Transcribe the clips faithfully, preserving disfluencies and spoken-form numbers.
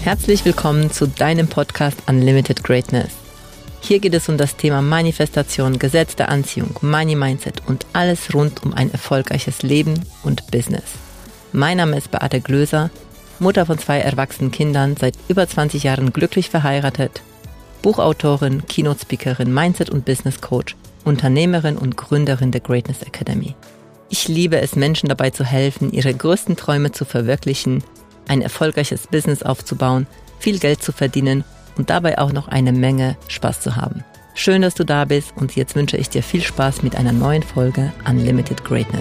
Herzlich willkommen zu deinem Podcast Unlimited Greatness. Hier geht es um das Thema Manifestation, Gesetz der Anziehung, Money Mindset und alles rund um ein erfolgreiches Leben und Business. Mein Name ist Beate Glöser, Mutter von zwei erwachsenen Kindern, seit über zwanzig Jahren glücklich verheiratet, Buchautorin, Keynote-Speakerin, Mindset- und Business-Coach, Unternehmerin und Gründerin der Greatness Academy. Ich liebe es, Menschen dabei zu helfen, ihre größten Träume zu verwirklichen, ein erfolgreiches Business aufzubauen, viel Geld zu verdienen und dabei auch noch eine Menge Spaß zu haben. Schön, dass du da bist und jetzt wünsche ich dir viel Spaß mit einer neuen Folge Unlimited Greatness.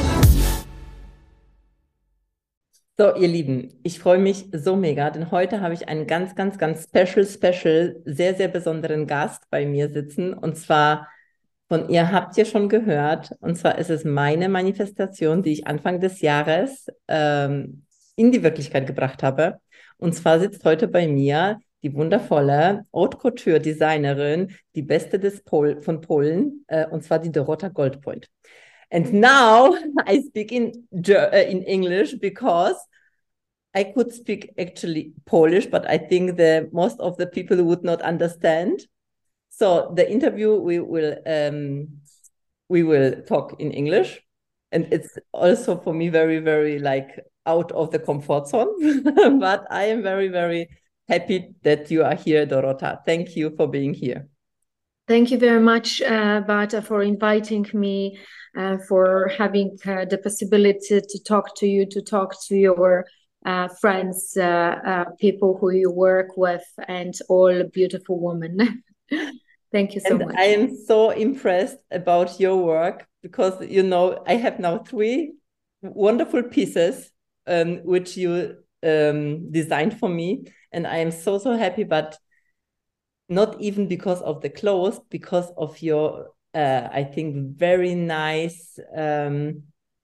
So, ihr Lieben, ich freue mich so mega, denn heute habe ich einen ganz, ganz, ganz special, special, sehr, sehr besonderen Gast bei mir sitzen. Und zwar, von ihr habt ihr schon gehört, und zwar ist es meine Manifestation, die ich Anfang des Jahres ähm, in die Wirklichkeit gebracht habe. Und zwar sitzt heute bei mir die wundervolle Haute Couture Designerin, die beste des Pol von Polen, äh, und zwar die Dorota Goldpoint. And now I speak in, uh, in English because I could speak actually Polish, but I think the most of the people would not understand. So the interview we will um, we will talk in English, and it's also for me very very like out of the comfort zone. But I am very very happy that you are here, Dorota. Thank you for being here. Thank you very much, uh, Bata, for inviting me, uh, for having uh, the possibility to talk to you, to talk to your uh, friends, uh, uh, people who you work with, and all beautiful women. Thank you so and much. I am so impressed about your work because, you know, I have now three wonderful pieces um, which you um, designed for me. And I am so, so happy, but not even because of the clothes, because of your, uh, I think, very nice um,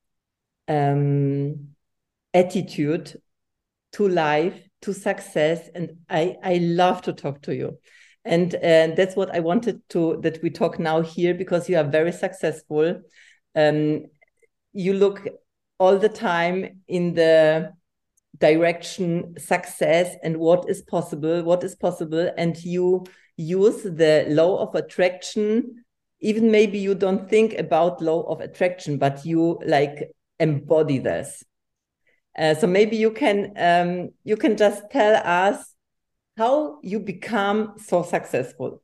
um, attitude to life, to success. And I, I love to talk to you. And uh, that's what I wanted to, that we talk now here, because you are very successful. Um, you look all the time in the direction success and what is possible, what is possible. And you use the law of attraction. Even maybe you don't think about law of attraction, but you like embody this. Uh, so maybe you can um, you can just tell us how you become so successful.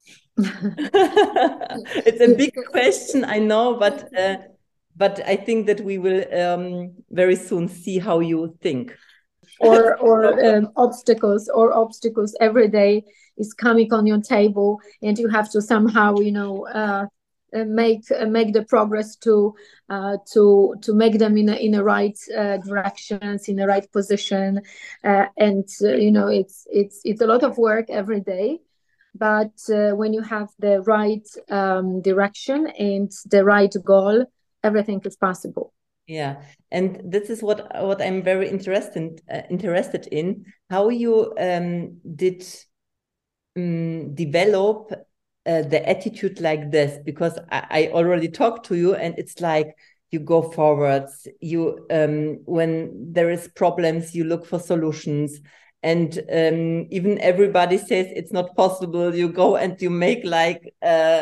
It's a big question, I know, but uh, but I think that we will um, very soon see how you think. Or or um, obstacles or obstacles every day is coming on your table, and you have to somehow, you know, uh, make uh, make the progress to uh, to to make them in a, in the right uh, directions, in the right position, uh, and uh, you know, it's it's it's a lot of work every day. But uh, when you have the right um, direction and the right goal, everything is possible. Yeah, and this is what what I'm very interested uh, interested in, how you um, did um, develop uh, the attitude like this, because I, I already talked to you, and it's like you go forwards. You um, when there is problems, you look for solutions, and um, even everybody says it's not possible, you go and you make like uh,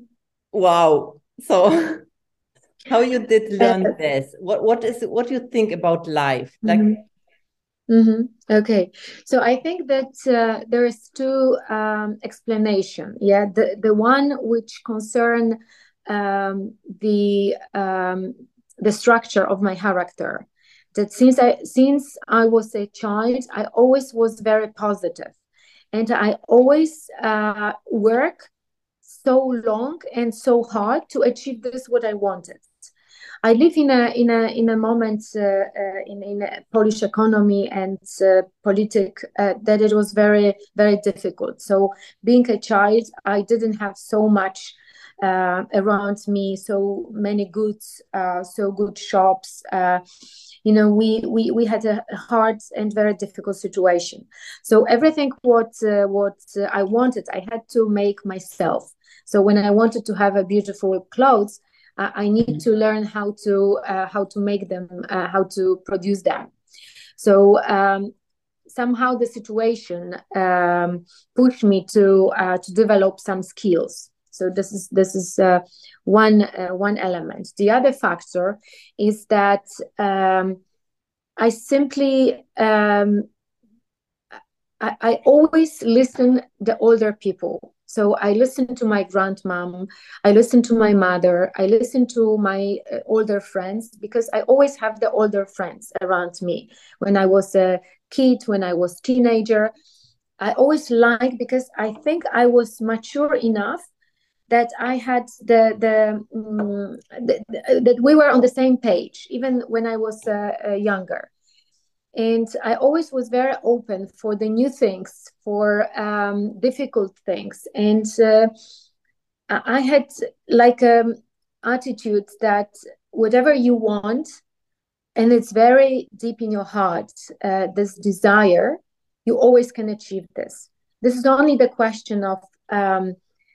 wow. So. How you did learn uh, this? What what is what do you think about life? Like, mm-hmm. Mm-hmm. Okay, so I think that uh, there is two um, explanation. Yeah, the the one which concern um, the um, the structure of my character. That since I since I was a child, I always was very positive, and I always uh, work so long and so hard to achieve this what I wanted. I live in a in a in a moment uh, uh, in in a Polish economy and uh, politic uh, that it was very very difficult. So being a child, I didn't have so much uh, around me, so many goods, uh, so good shops. Uh, you know, we, we we had a hard and very difficult situation. So everything what uh, what uh, I wanted, I had to make myself. So when I wanted to have a beautiful clothes, I need to learn how to uh, how to make them, uh, how to produce them. So um, somehow the situation um, pushed me to uh, to develop some skills. So this is this is uh, one uh, one element. The other factor is that um, I simply um, I, I always listen the older people. So I listen to my grandmom, I listen to my mother, I listen to my uh, older friends, because I always have the older friends around me. When I was a kid, when I was teenager, I always liked, because I think I was mature enough that I had the the, um, the, the that we were on the same page, even when I was uh, uh, younger. And I always was very open for the new things, for um, difficult things. And uh, I had like an attitude that whatever you want, and it's very deep in your heart, uh, this desire, you always can achieve this. This is only the question of um,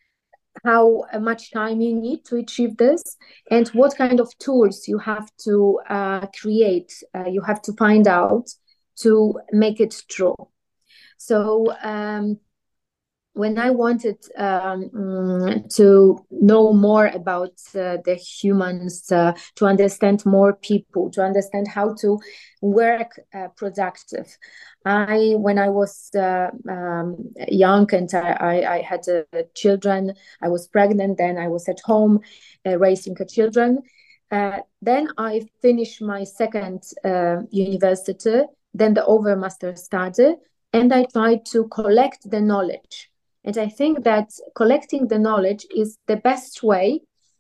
how much time you need to achieve this, and what kind of tools you have to uh, create, uh, you have to find out to make it true. So um, when I wanted um, to know more about uh, the humans, uh, to understand more people, to understand how to work uh, productive, I, when I was uh, um, young and I, I, I had uh, children, I was pregnant, then I was at home uh, raising children. Uh, then I finished my second uh, university, then the overmaster started, and I tried to collect the knowledge. And I think that collecting the knowledge is the best way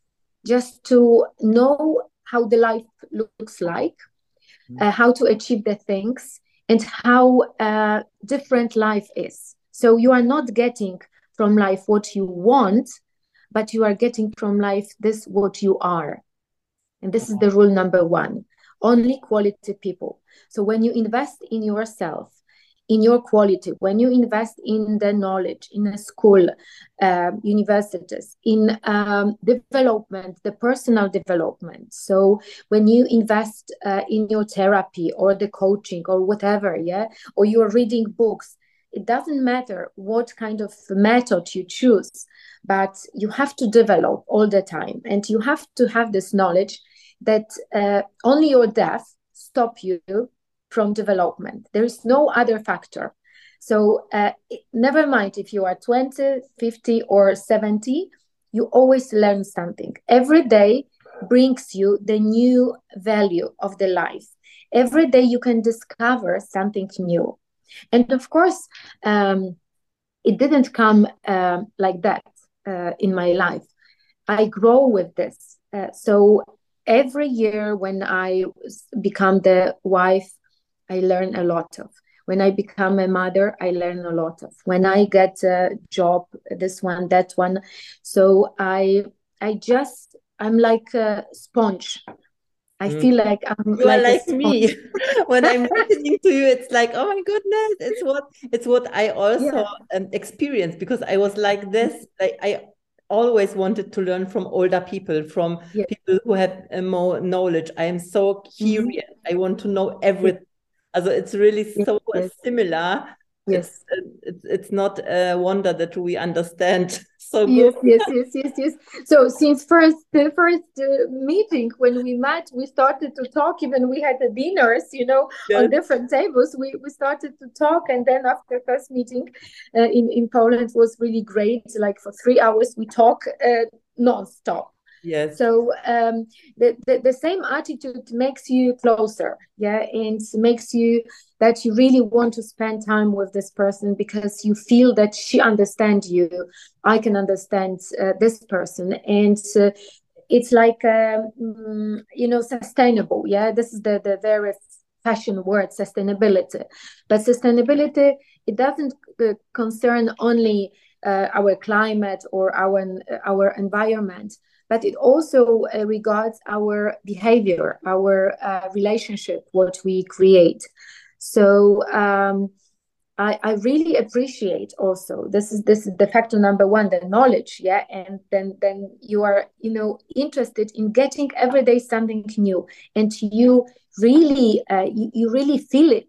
just to know how the life looks like, uh, how to achieve the things, and how uh, different life is. So you are not getting from life what you want, but you are getting from life this what you are. And this is the rule number one. Only quality people. So when you invest in yourself, in your quality, when you invest in the knowledge, in a school, uh, universities, in um, development, the personal development. So when you invest uh, in your therapy or the coaching or whatever, yeah, or you're reading books, it doesn't matter what kind of method you choose, but you have to develop all the time. And you have to have this knowledge that uh, only your death stop you from development. There is no other factor. So uh, never mind if you are twenty, fifty, or seventy, you always learn something. Every day brings you the new value of the life. Every day you can discover something new. And of course, um, it didn't come uh, like that uh, in my life. I grow with this. Uh, so every year when I become the wife, I learn a lot of. When I become a mother, I learn a lot of. When I get a job, this one, that one. So I I just, I'm like a sponge. I Mm. feel like I'm You like are a like sponge. me. When I'm listening to you, it's like, oh my goodness, it's what it's what I also Yeah. um, experienced, because I was like this. Like I always wanted to learn from older people, from Yeah. people who have uh, more knowledge. I am so curious. Mm-hmm. I want to know Yes, everything. Also, it's really yes, so yes, similar. It's yes. it's it's not a wonder that we understand so good. Yes, yes, yes, yes, yes. So since first the first uh, meeting when we met, we started to talk. Even we had the dinners, you know, on Yes. different tables. We we started to talk, and then after first meeting uh, in in Poland was really great. Like for three hours, we talk uh, non-stop. Yes. So um, the, the the same attitude makes you closer, yeah, and makes you that you really want to spend time with this person, because you feel that she understands you. I can understand uh, this person, and uh, it's like um, you know, sustainable. Yeah, this is the the very fashion word, sustainability. But sustainability, it doesn't uh, concern only uh, our climate or our our environment, but it also uh, regards our behavior, our uh, relationship, what we create. So um, I, I really appreciate also, this is this is the factor number one, the knowledge, yeah, and then then you are, you know, interested in getting every day something new, and you really uh, you, you really feel it.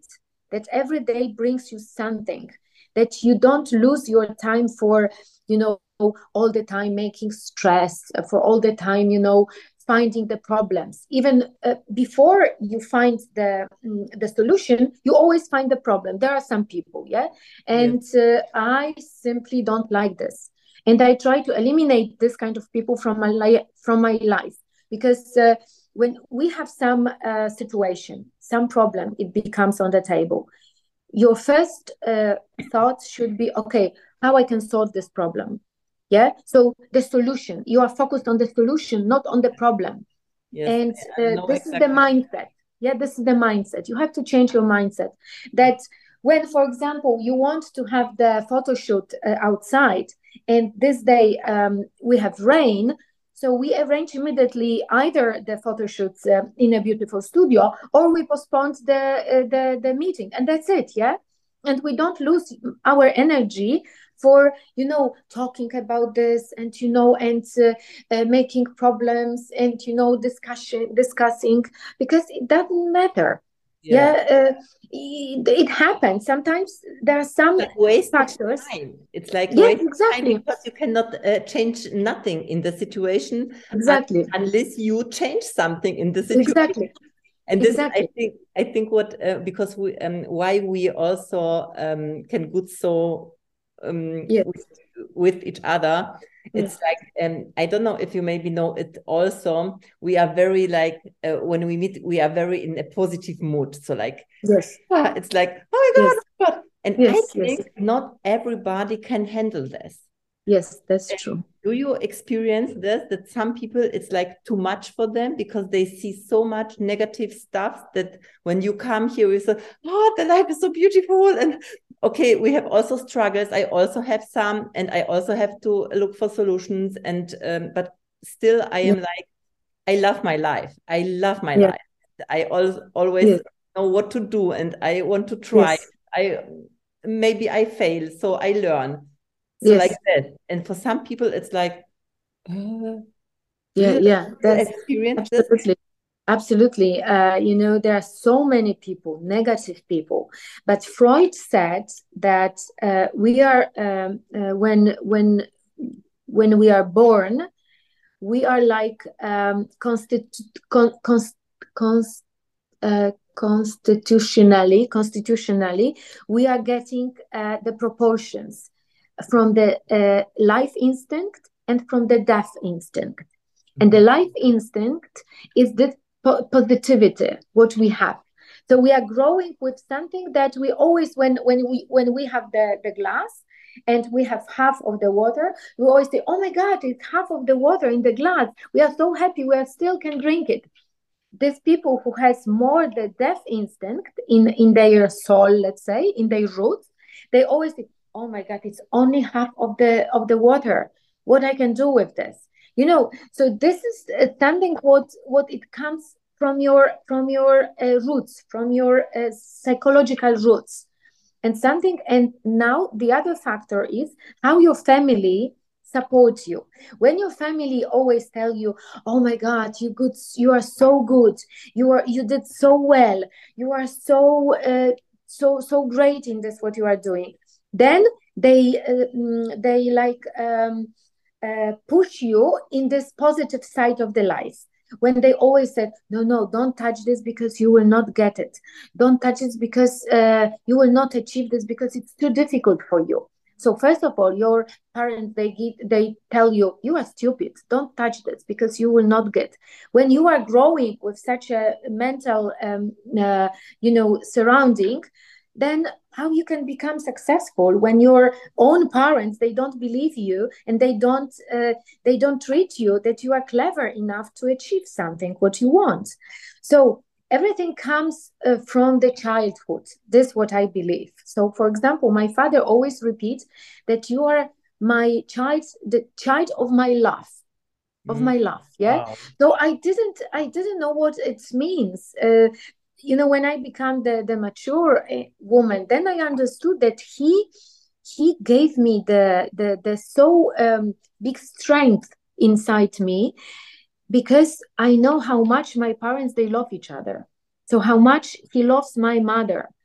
that every day brings you something, that you don't lose your time for, you know, all the time making stress, for all the time, you know, finding the problems. Even uh, before you find the mm, the solution, you always find the problem. There are some people, yeah, and uh, I simply don't like this, and I try to eliminate this kind of people from my life, from my life, because uh, when we have some uh, situation, some problem, it becomes on the table. Your first uh, thought should be, okay, how I can solve this problem. Yeah, so the solution, you are focused on the solution, not on the problem. Yes, and I uh, know this is the exactly. mindset. Yeah, this is the mindset. You have to change your mindset, that when, for example, you want to have the photo shoot uh, outside, and this day um, we have rain, so we arrange immediately either the photo shoots uh, in a beautiful studio, or we postpone the, uh, the the meeting, and that's it. Yeah, and we don't lose our energy for, you know, talking about this, and, you know, and uh, uh, making problems, and, you know, discussion discussing, because it doesn't matter. Yeah. Yeah, uh, it, it happens sometimes. There are some Like wasted factors. time. It's like Yes, wasted time exactly, because you cannot uh, change nothing in the situation un exactly, unless you change something in the situation. exactly, And this, I exactly. think, I think what uh, because we um, why we also um, can good so um, Yes, with, with each other. It's yes, like um, I don't know if you maybe know it. Also, we are very like uh, when we meet, we are very in a positive mood. So like yes, ah, it's like oh my god, yes, oh my god. And I yes, yes, think not everybody can handle this. yes. That's true. Do you experience this, that some people it's like too much for them because they see so much negative stuff that when you come here you say, oh, the life is so beautiful, and okay, we have also struggles, I also have some, and I also have to look for solutions, and um, but still I Yeah, am like, I love my life, I love my yeah, life, I al always yes, know what to do, and I want to try. yes, I maybe I fail, so I learn. So like yes. that. And for some people, it's like, uh, do Yeah, you, yeah. do you That's experience this? absolutely. Absolutely. Uh, you know, there are so many people, negative people. But Freud said that uh, we are um, uh, when when when we are born, we are like um, constitu- con- cons- cons- uh, constitutionally constitutionally we are getting uh, the proportions from the uh, life instinct and from the death instinct. And the life instinct is the po- positivity, what we have. So we are growing with something that we always, when when we when we have the, the glass and we have half of the water, we always say, oh my God, it's half of the water in the glass. We are so happy, we are still can drink it. These people who has more the death instinct in, in their soul, let's say, in their roots, they always say, oh my God, it's only half of the of the water. What I can do with this? You know, so this is uh, something what what it comes from your from your uh, roots, from your uh, psychological roots, and something. And now the other factor is how your family support you. When your family always tell you, oh my God, you good, you are so good, you are you did so well, you are so uh, so so great in this what you are doing, then they uh, mm, they like um, uh, push you in this positive side of the life. When they always said, no, no, don't touch this because you will not get it, don't touch it because uh, you will not achieve this because it's too difficult for you. So first of all, your parents, they give, they tell you, you are stupid, don't touch this because you will not get. When you are growing with such a mental um, uh, you know surrounding, then how you can become successful when your own parents, they don't believe you, and they don't uh, they don't treat you that you are clever enough to achieve something what you want. So everything comes uh, from the childhood. This is what I believe. So for example, my father always repeats that you are my child, the child of my love, of Mm. my love. Yeah. Wow. So i didn't i didn't know what it means. uh, you know, when I became the the mature uh, woman, then I understood that he he gave me the the the so um, big strength inside me, because I know how much my parents, they love each other. So how much he loves my mother,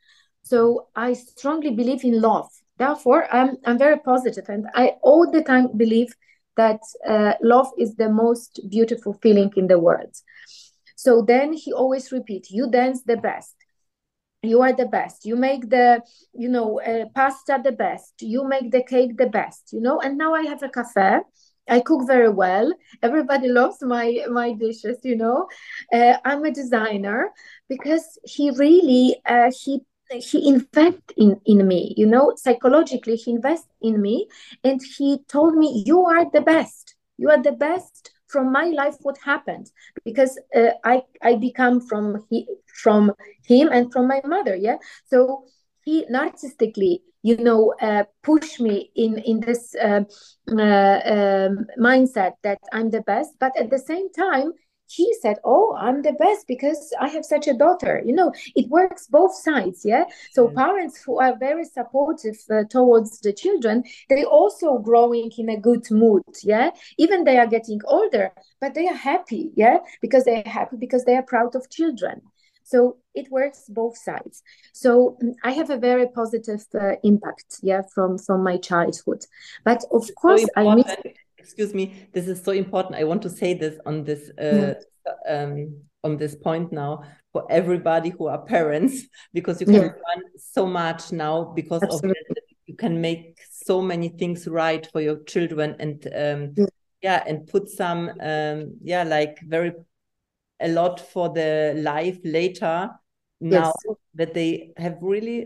So I strongly believe in love. Therefore, I'm I'm very positive, and I all the time believe that uh, love is the most beautiful feeling in the world. So then he always repeat, "You dance the best. You are the best. You make the, you know, uh, pasta the best. You make the cake the best. You know." And now I have a cafe. I cook very well. Everybody loves my my dishes. You know, uh, I'm a designer because he really uh, he he invests in in me. You know, psychologically he invests in me, and he told me, "You are the best. You are the best." From my life, what happened, because uh, I I become from he from him and from my mother. Yeah, so he narcissistically, you know, uh, push me in in this uh, uh, um, mindset that I'm the best, but at the same time he said, "Oh, I'm the best because I have such a daughter." You know, it works both sides. Yeah, so parents who are very supportive uh, towards the children, they also growing in a good mood. Yeah, even they are getting older, but they are happy. Yeah, because they are happy because they are proud of children. So it works both sides. So mm, I have a very positive uh, impact, yeah, from from my childhood. But of So course, I miss. important. Excuse me, this is so important. I want to say this on this uh, um, on this point now for everybody who are parents, because you can Yeah, learn so much now because of absolutely. this. You can make so many things right for your children, and um, Yeah. yeah, and put some um, yeah, like very a lot for the life later now Yes. that they have really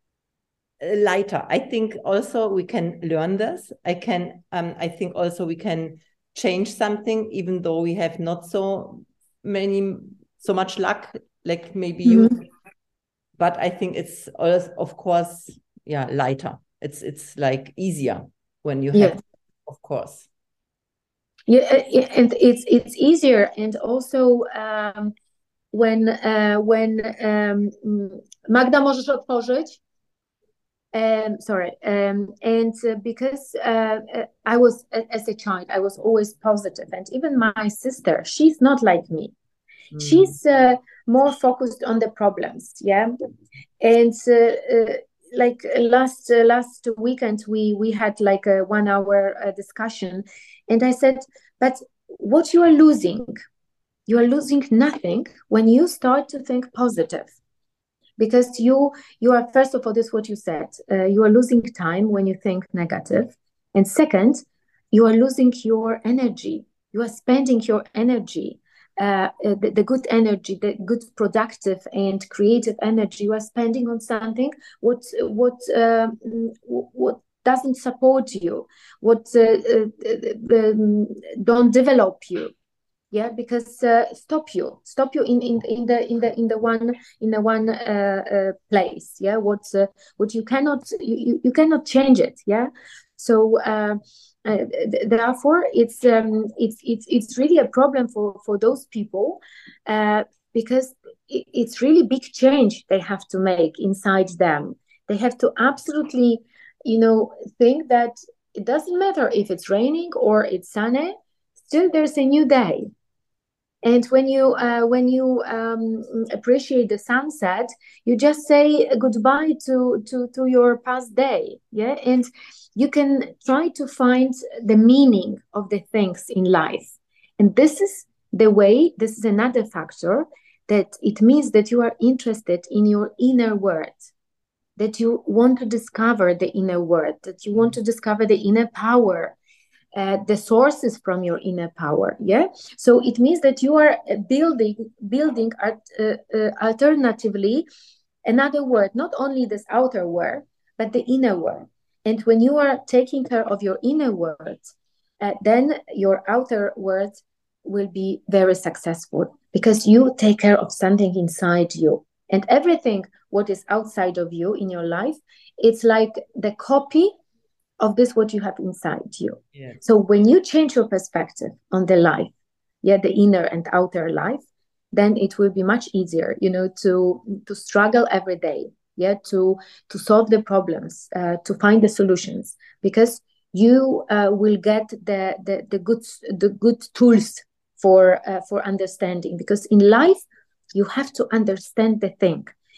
lighter. I think also we can learn this. I can, um, I think also we can change something, even though we have not so many, so much luck, like maybe you. Mhm. But I think it's also, of course, yeah, lighter. It's it's like easier when you have, Yeah. of course. Yeah, uh, yeah, and it's it's easier, and also um, when uh, when um, mm, Magda, możesz otworzyć? Um, sorry, um, and uh, because uh, uh, I was as a child, I was always positive, and even my sister, she's not like me. Mm. She's uh, more focused on the problems, yeah. And uh, uh, like last uh, last weekend, we we had like a one hour uh, discussion, and I said, "But what you are losing, you are losing nothing when you start to think positive." Because you you are, first of all, this is what you said, uh, you are losing time when you think negative, and second, you are losing your energy, you are spending your energy, uh, uh, the, the good energy, the good productive and creative energy, you are spending on something what what um, what doesn't support you, what uh, uh, um, don't develop you. Yeah, because uh, stop you stop you in, in in the in the in the one in the one uh, uh, place. Yeah, what uh, what you cannot, you, you cannot change it. Yeah, so uh, uh, th- therefore it's um it's it's it's really a problem for for those people, uh, because it, it's really big change they have to make inside them. They have to absolutely, you know, think that it doesn't matter if it's raining or it's sunny, still there's a new day. And when you uh, when you um, appreciate the sunset, you just say goodbye to to to your past day. Yeah, and you can try to find the meaning of the things in life. And this is the way. This is another factor that it means that you are interested in your inner world, that you want to discover the inner world, that you want to discover the inner power, uh, the sources from your inner power. Yeah, so it means that you are uh, building building art, uh, uh, alternatively another world, not only this outer world but the inner world. And when you are taking care of your inner world, uh, then your outer world will be very successful, because you take care of something inside you, and everything what is outside of you in your life, it's like the copy of this what you have inside you. Yes. So when you change your perspective on the life, yeah, the inner and outer life, then it will be much easier, you know, to to struggle every day, yeah, to to solve the problems, uh, to find the solutions, because you uh, will get the, the the good the good tools for uh, for understanding. Because in life you have to understand the thing.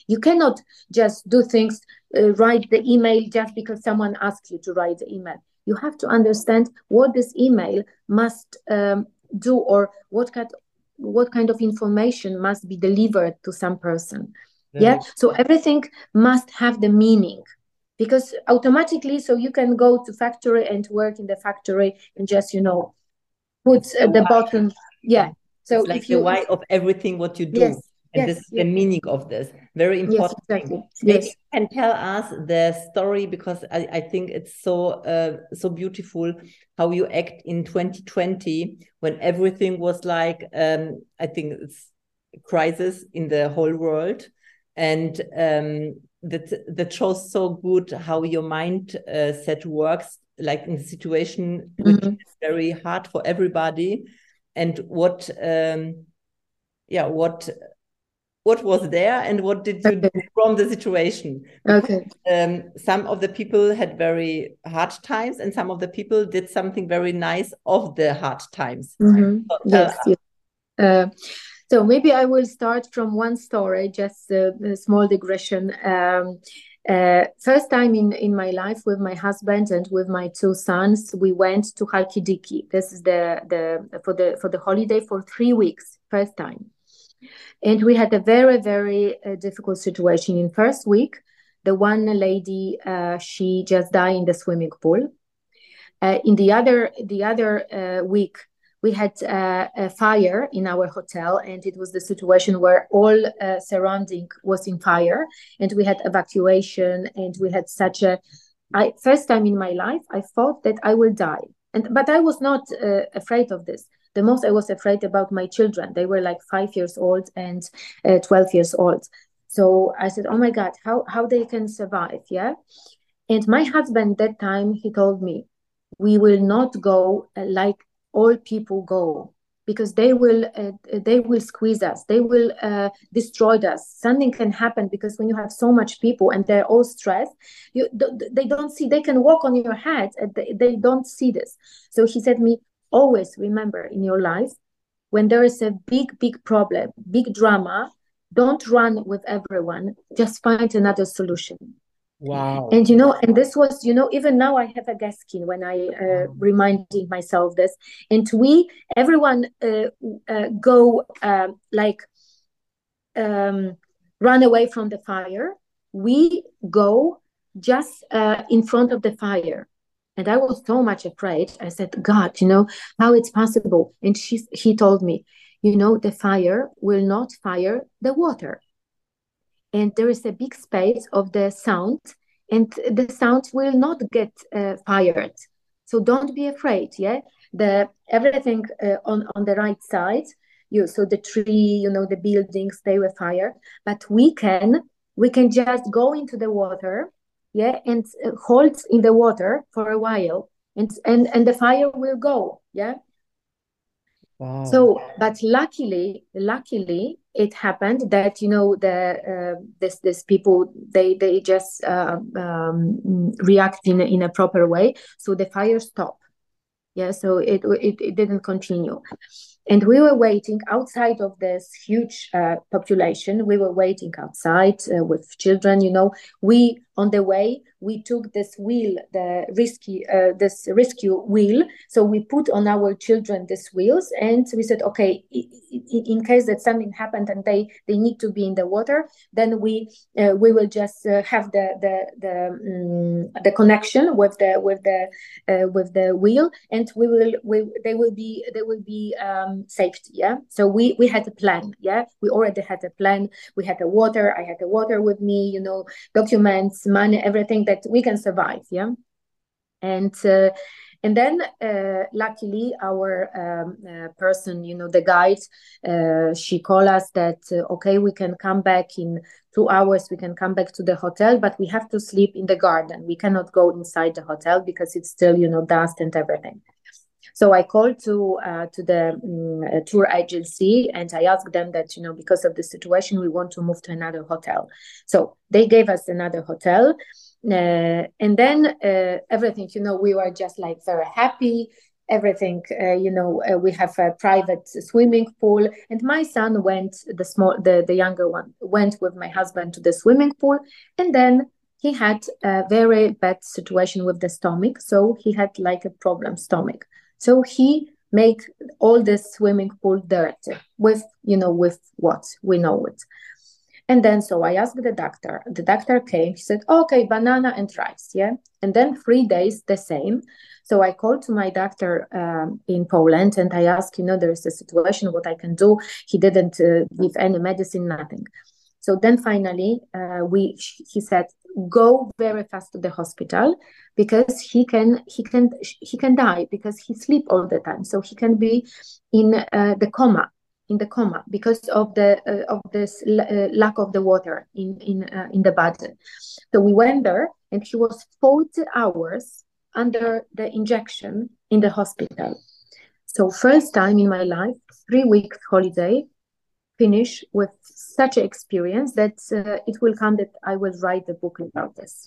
You cannot just do things, uh, write the email just because someone asks you to write the email. You have to understand what this email must um, do, or what kind, what kind of information must be delivered to some person. Very yeah. So everything must have the meaning, because automatically, so you can go to factory and work in the factory and just, you know, put uh, the button. Yeah. So it's like if you, the why of everything what you do. Yes. And yes, this is yes. the meaning of this. Very important. Yes, exactly. Thing. Maybe yes. you can tell us the story, because I, I think it's so uh, so beautiful how you act in twenty twenty when everything was like, um, I think it's a crisis in the whole world. And um, that, that shows so good how your mind uh, set works, like in a situation which mm-hmm. is very hard for everybody. And what, um, yeah, what... what was there and what did you okay. do from the situation? Because, okay. Um, some of the people had very hard times, and some of the people did something very nice of the hard times. Mm-hmm. So, yes. yes. Uh, so maybe I will start from one story, just a, a small digression. Um, uh, first time in, in my life with my husband and with my two sons, we went to Halkidiki. This is the, the for the for the holiday for three weeks. First time. And we had a very, very uh, difficult situation. In first week, the one lady, uh, she just died in the swimming pool. Uh, in the other, the other uh, week, we had uh, a fire in our hotel, and it was the situation where all uh, surrounding was in fire, and we had evacuation, and we had such a. I first time in my life, I thought that I will die, and but I was not uh, afraid of this. The most I was afraid about my children. They were like five years old and uh, twelve years old. So I said, oh my God, how, how they can survive, yeah? And my husband that time, he told me, we will not go uh, like all people go, because they will uh, they will squeeze us. They will uh, destroy us. Something can happen, because when you have so much people and they're all stressed, you, they don't see, they can walk on your head and they, they don't see this. So he said to me, always remember in your life, when there is a big, big problem, big drama, don't run with everyone, just find another solution. Wow. And, you know, and this was, you know, even now I have a gas skin when I uh, reminding myself this. And we, everyone uh, uh, go uh, like um, run away from the fire. We go just uh, in front of the fire. And I was so much afraid. I said, God, you know, how it's possible? And she, he told me, you know, the fire will not fire the water. And there is a big space of the sound, and the sound will not get uh, fired. So don't be afraid, yeah? The everything uh, on, on the right side, you so the tree, you know, the buildings, they will fire. But we can, we can just go into the water, yeah, and uh, hold in the water for a while, and and and the fire will go, yeah. Wow. So, but luckily, luckily, it happened that, you know, the uh, this this people they they just uh, um, react in a, in a proper way, so the fire stopped. Yeah, so it it it didn't continue. And we were waiting outside of this huge uh, population. We were waiting outside uh, with children. You know, we on the way we took this wheel, the risky, uh, this rescue wheel. So we put on our children these wheels, and we said, okay, in, in case that something happened and they they need to be in the water, then we uh, we will just uh, have the the the um, the connection with the with the uh, with the wheel, and we will we they will be they will be. Um, safety, yeah. So we we had a plan, yeah. We already had a plan. We had the water. I had the water with me, you know, documents, money, everything that we can survive, yeah. And uh, and then uh, luckily our um, uh, person, you know, the guide, uh, she called us that uh, okay, we can come back in two hours. We can come back to the hotel, but we have to sleep in the garden. We cannot go inside the hotel because it's still, you know, dust and everything. So I called to uh, to the um, tour agency, and I asked them that, you know, because of the situation, we want to move to another hotel. So they gave us another hotel. Uh, and then uh, everything, you know, we were just like very happy. Everything, uh, you know, uh, we have a private swimming pool. And my son went, the small, the, the younger one, went with my husband to the swimming pool, and then he had a very bad situation with the stomach. So he had like a problem stomach. So he made all the swimming pool dirty with, you know, with what we know it. And then, so I asked the doctor, the doctor came, he said, okay, banana and rice. Yeah. And then three days, the same. So I called to my doctor um, in Poland and I asked, you know, there's a situation, what I can do. He didn't uh, give any medicine, nothing. So then finally, uh, we he said, go very fast to the hospital because he can he can he can die because he sleep all the time. So he can be in uh, the coma, in the coma because of the uh, of this uh, lack of the water in in uh, in the body. So we went there, and he was forty hours under the injection in the hospital. So first time in my life, three weeks holiday, finish with such an experience that uh, it will come that I will write the book about this.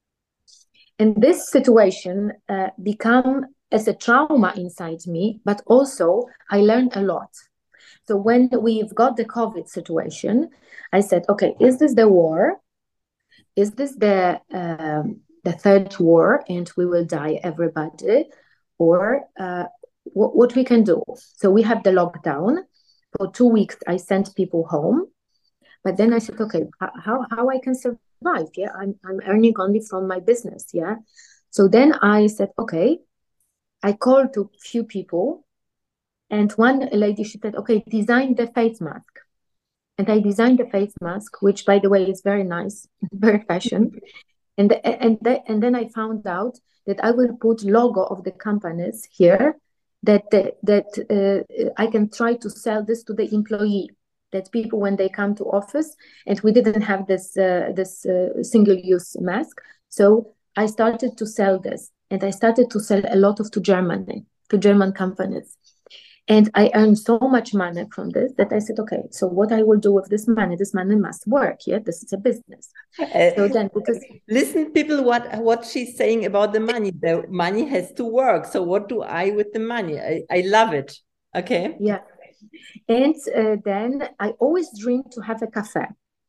And this situation uh, become as a trauma inside me, but also I learned a lot. So when we've got the COVID situation, I said, okay, is this the war? Is this the um, the third war and we will die everybody? Or uh, what, what we can do? So we have the lockdown. For two weeks, I sent people home. But then I said, okay, how, how I can survive? Yeah, I'm, I'm earning only from my business. Yeah. So then I said, okay, I called to few people. And one lady, she said, okay, design the face mask. And I designed the face mask, which, by the way, is very nice, very fashion. And, and, the, and then I found out that I will put logo of the companies here, that, that, that uh, I can try to sell this to the employee, that people, when they come to office, and we didn't have this, uh, this uh, single-use mask. So I started to sell this, and I started to sell a lot of to Germany, to German companies. And I earned so much money from this that I said, okay, so what I will do with this money, this money must work. Yeah, this is a business. Uh, so then, because listen, people, what what she's saying about the money. The money has to work. So what do I with the money? I, I love it. Okay. Yeah. And uh, then I always dreamed to have a cafe.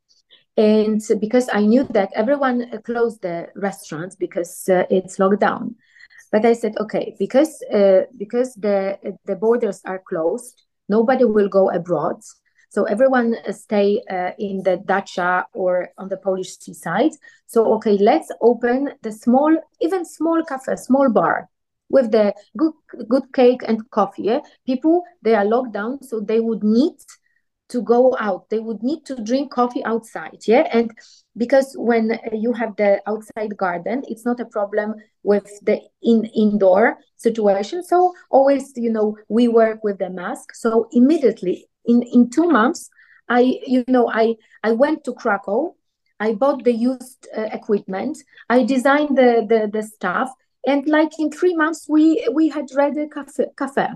And because I knew that everyone closed the restaurants because uh, it's locked down. But I said, okay, because uh, because the the borders are closed, nobody will go abroad. So everyone stay uh, in the dacha or on the Polish seaside. So, okay, let's open the small, even small cafe, small bar with the good good cake and coffee. Yeah? People, they are locked down, so they would need to go out. They would need to drink coffee outside. Yeah. And because when you have the outside garden, it's not a problem with the in indoor situation. So always, you know, we work with the mask. So immediately in, in two months, I, you know, I, I went to Krakow. I bought the used uh, equipment. I designed the, the, the stuff. And like in three months, we, we had ready a cafe, cafe.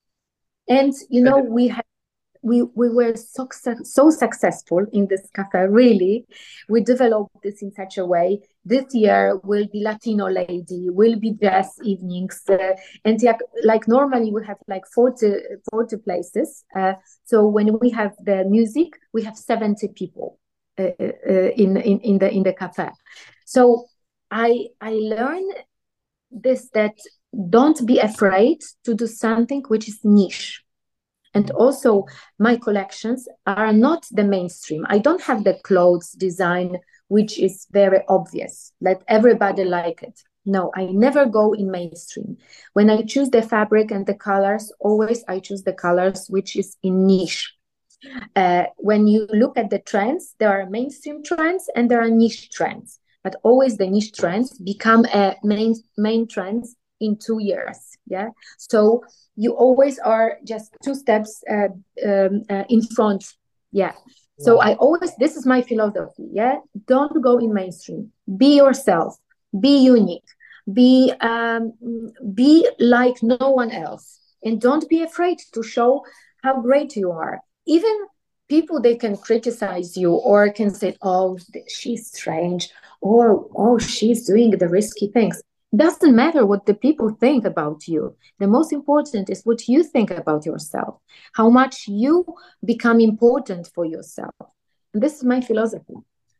And, you know, we had We, we were so, so successful in this cafe, really. We developed this in such a way. This year will be Latino lady, will be jazz evenings. Uh, and yeah, like normally we have like forty, forty places. Uh, so when we have the music, we have seventy people uh, uh, in, in, in, the, in the cafe. So I, I learned this, that don't be afraid to do something which is niche. And also my collections are not the mainstream. I don't have the clothes design, which is very obvious. Let everybody like it. No, I never go in mainstream. When I choose the fabric and the colors, always I choose the colors which is in niche. Uh, when you look at the trends, there are mainstream trends and there are niche trends. But always the niche trends become a main, main trends in two years. Yeah. So you always are just two steps uh, um, uh, in front. Yeah. So wow. I always, this is my philosophy. Yeah. Don't go in mainstream. Be yourself. Be unique. Be um, be like no one else. And don't be afraid to show how great you are. Even people, they can criticize you or can say, oh, she's strange, or oh, she's doing the risky things. Doesn't matter what the people think about you. The most important is what you think about yourself, how much you become important for yourself. And this is my philosophy.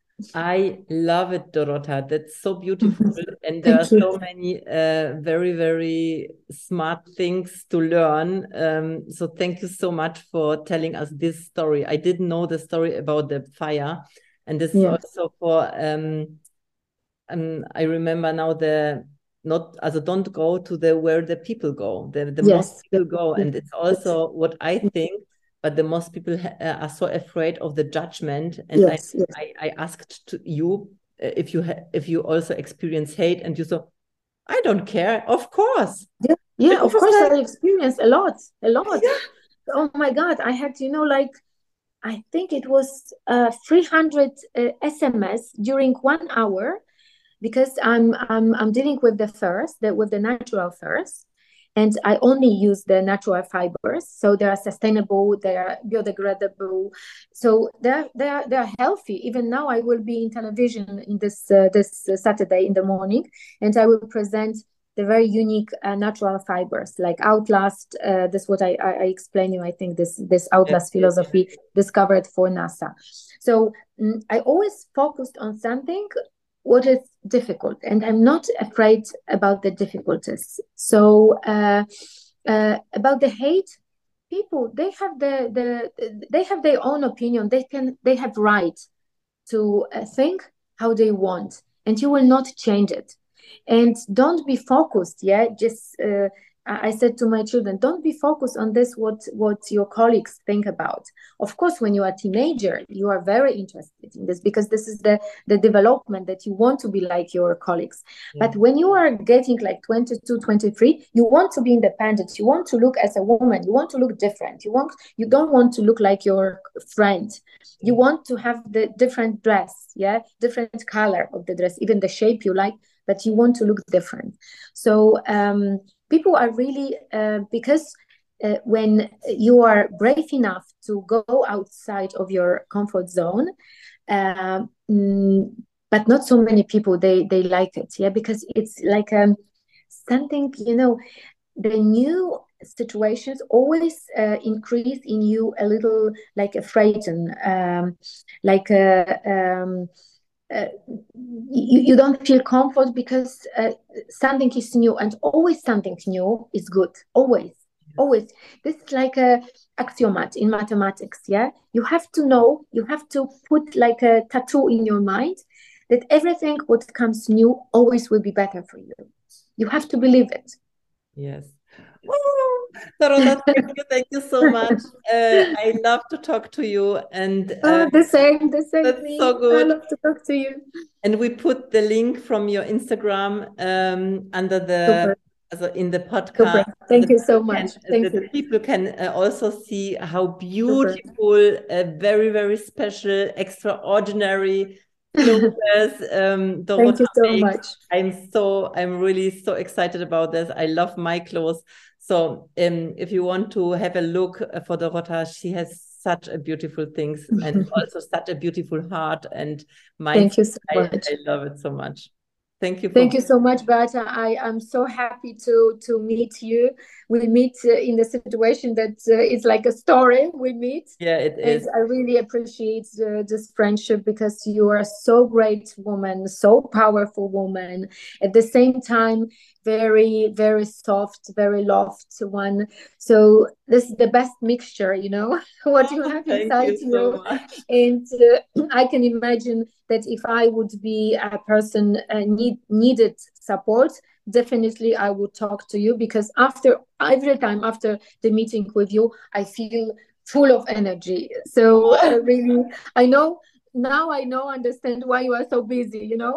I love it, Dorota. That's so beautiful. And there are so many uh, very, very smart things to learn. Um, so thank you so much for telling us this story. I didn't know the story about the fire. And this yeah. is also for, um, um, I remember now the, not, also don't go to the, where the people go, the, the yes. most people go. And it's also what I think. But the most people ha- are so afraid of the judgment. And yes, I, yes. I, I asked to you uh, if you ha- if you also experience hate, and you said, I don't care. Of course. Yeah, yeah. Of course, like, I experienced a lot, a lot. Yeah. Oh my God, I had, you know, like I think it was uh, three hundred uh, S M S during one hour, because I'm I'm I'm dealing with the furs, the, with the natural furs. And I only use the natural fibers, so they are sustainable, they are biodegradable, so they are they are they are healthy. Even now, I will be in television in this uh, this uh, Saturday in the morning, and I will present the very unique uh, natural fibers like Outlast. Uh, this is what I, I I explain you. I think this this Outlast philosophy discovered for NASA. So um, I always focused on something what is difficult, and I'm not afraid about the difficulties. So uh, uh, about the hate, people, they have the, the they have their own opinion. They can they have right to uh, think how they want, and you will not change it. And don't be focused, yeah, just uh, I said to my children, don't be focused on this, what what your colleagues think about. Of course, when you are a teenager, you are very interested in this, because this is the, the development that you want to be like your colleagues. Yeah. But when you are getting like twenty-two, twenty-three, you want to be independent. You want to look as a woman. You want to look different. You want you don't want to look like your friend. You want to have the different dress, yeah, different color of the dress, even the shape you like, but you want to look different. So um, people are really, uh, because uh, when you are brave enough to go outside of your comfort zone, uh, mm, but not so many people, they they like it, yeah, because it's like um, something, you know, the new situations always uh, increase in you a little, like a frighten, um, like a, um, uh, you, you don't feel comfort, because uh, something is new, and always something new is good, always, always. This is like a axiomat in mathematics, yeah? You have to know, you have to put like a tattoo in your mind that everything what comes new always will be better for you. You have to believe it. Yes. Oh, Dorota, thank you, thank you so much. Uh, I love to talk to you, and uh, oh, the same, the same. That's me. so good. I love to talk to you. And we put the link from your Instagram um, under the also in the podcast. Super. Thank the you so much. Can, Thank the, you. The people can uh, also see how beautiful, uh, very very special, extraordinary clothes um, Dorota Thank you so makes. much. I'm so I'm really so excited about this. I love my clothes. So um, if you want to have a look for Dorota, she has such a beautiful things and also such a beautiful heart and mind. Thank you so much. I, I love it so much. Thank you. For Thank you so much, Beata. I am so happy to to meet you. We meet uh, in the situation that uh, it's like a story we meet. Yeah, it and is. I really appreciate uh, this friendship, because you are so great woman, so powerful woman. At the same time, very, very soft, very loft one. So this is the best mixture, you know, what you have inside you. you. So and uh, I can imagine that if I would be a person uh, need needed support, definitely I would talk to you, because after every time after the meeting with you, I feel full of energy. So uh, really, I know now I know understand why you are so busy, you know.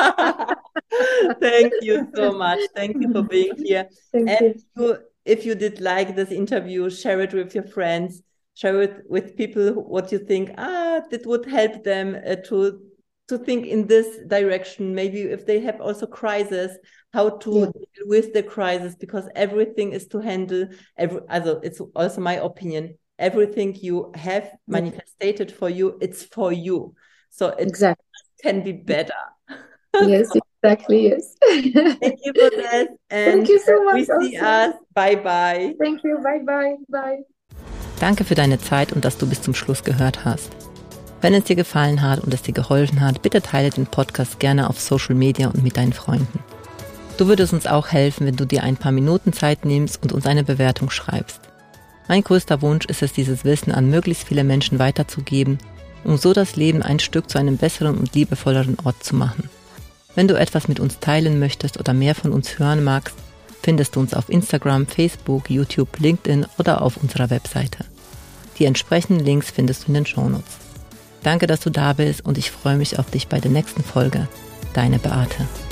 Thank you so much. Thank you for being here. Thank and you. you, if you did like this interview, share it with your friends, share it with people who, what you think ah that would help them uh, to to think in this direction. Maybe if they have also crisis, how to yeah. deal with the crisis, because everything is to handle. Every, also, it's also my opinion. Everything you have manifested for you, it's for you. So it exactly. can be better. Yes, exactly. Yes. Thank you for this. And Thank you so much. We see us. Bye bye. Thank you. Bye bye. Bye. Danke für deine Zeit und dass du bis zum Schluss gehört hast. Wenn es dir gefallen hat und es dir geholfen hat, bitte teile den Podcast gerne auf Social Media und mit deinen Freunden. Du würdest uns auch helfen, wenn du dir ein paar Minuten Zeit nimmst und uns eine Bewertung schreibst. Mein größter Wunsch ist es, dieses Wissen an möglichst viele Menschen weiterzugeben, um so das Leben ein Stück zu einem besseren und liebevolleren Ort zu machen. Wenn du etwas mit uns teilen möchtest oder mehr von uns hören magst, findest du uns auf Instagram, Facebook, YouTube, LinkedIn oder auf unserer Webseite. Die entsprechenden Links findest du in den Shownotes. Danke, dass du da bist und ich freue mich auf dich bei der nächsten Folge. Deine Beate.